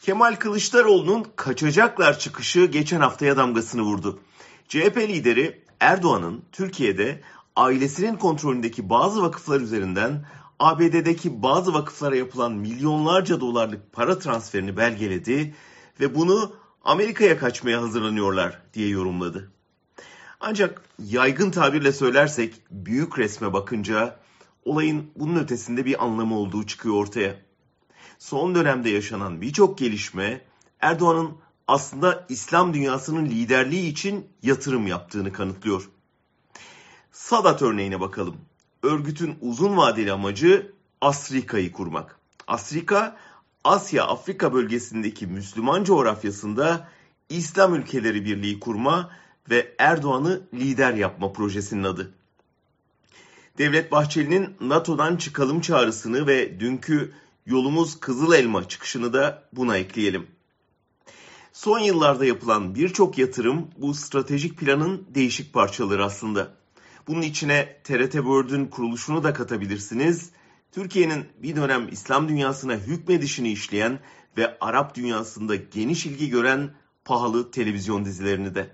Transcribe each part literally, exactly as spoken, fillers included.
Kemal Kılıçdaroğlu'nun kaçacaklar çıkışı geçen haftaya damgasını vurdu. C H P lideri Erdoğan'ın Türkiye'de ailesinin kontrolündeki bazı vakıflar üzerinden A B D'deki bazı vakıflara yapılan milyonlarca dolarlık para transferini belgeledi ve bunu Amerika'ya kaçmaya hazırlanıyorlar diye yorumladı. Ancak yaygın tabirle söylersek büyük resme bakınca olayın bunun ötesinde bir anlamı olduğu çıkıyor ortaya. Son dönemde yaşanan birçok gelişme Erdoğan'ın aslında İslam dünyasının liderliği için yatırım yaptığını kanıtlıyor. Sadat örneğine bakalım. Örgütün uzun vadeli amacı Asrika'yı kurmak. Asrika, Asya-Afrika bölgesindeki Müslüman coğrafyasında İslam ülkeleri birliği kurma ve Erdoğan'ı lider yapma projesinin adı. Devlet Bahçeli'nin NATO'dan çıkalım çağrısını ve dünkü yolumuz Kızıl Elma çıkışını da buna ekleyelim. Son yıllarda yapılan birçok yatırım bu stratejik planın değişik parçaları aslında. Bunun içine T R T World'ün kuruluşunu da katabilirsiniz. Türkiye'nin bir dönem İslam dünyasına hükmedişini işleyen ve Arap dünyasında geniş ilgi gören pahalı televizyon dizilerini de.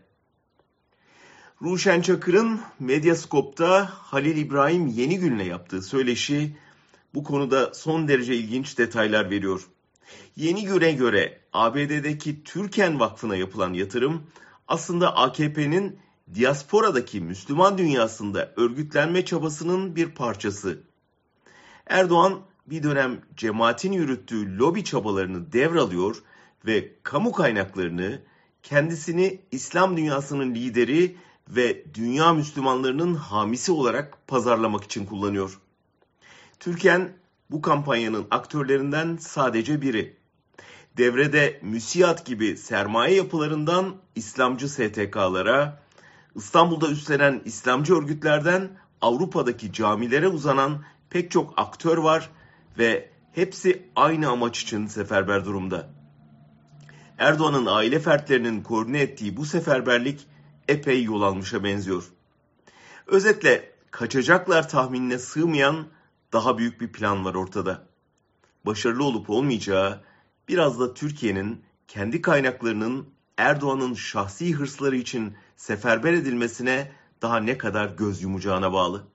Ruşen Çakır'ın Medyascope'da Halil İbrahim Yenigün'le yaptığı söyleşi bu konuda son derece ilginç detaylar veriyor. Yenigün'e göre A B D'deki Türken Vakfı'na yapılan yatırım aslında A K P'nin diasporadaki Müslüman dünyasında örgütlenme çabasının bir parçası. Erdoğan bir dönem cemaatin yürüttüğü lobi çabalarını devralıyor ve kamu kaynaklarını kendisini İslam dünyasının lideri ve dünya Müslümanlarının hamisi olarak pazarlamak için kullanıyor. Türken bu kampanyanın aktörlerinden sadece biri. Devrede MÜSİAD gibi sermaye yapılarından İslamcı S T K'lara, İstanbul'da üstlenen İslamcı örgütlerden Avrupa'daki camilere uzanan pek çok aktör var ve hepsi aynı amaç için seferber durumda. Erdoğan'ın aile fertlerinin koordine ettiği bu seferberlik epey yol almışa benziyor. Özetle kaçacaklar tahminine sığmayan daha büyük bir plan var ortada. Başarılı olup olmayacağı biraz da Türkiye'nin kendi kaynaklarının Erdoğan'ın şahsi hırsları için seferber edilmesine daha ne kadar göz yumacağına bağlı.